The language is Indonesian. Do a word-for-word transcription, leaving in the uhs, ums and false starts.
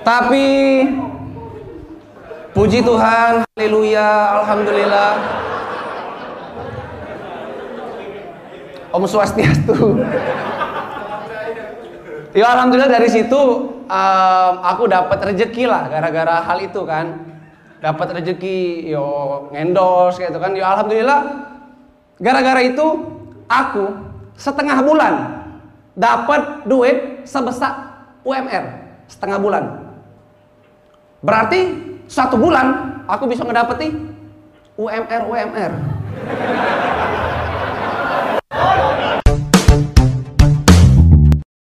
Tapi puji Tuhan, haleluya, alhamdulillah. Om Swastiastu. Ya alhamdulillah dari situ um, aku dapat rezeki lah gara-gara hal itu kan. Dapat rezeki yo ngendorse kayak itu kan. Ya alhamdulillah gara-gara itu aku setengah bulan dapat duit sebesar U M R setengah bulan. Berarti satu bulan aku bisa ngedapeti U M R U M R.